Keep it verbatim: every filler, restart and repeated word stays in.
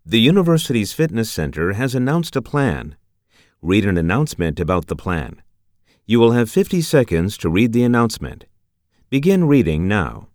The university's fitness center has announced a plan. Read an announcement about the plan. You will have fifty seconds to read the announcement. Begin reading now.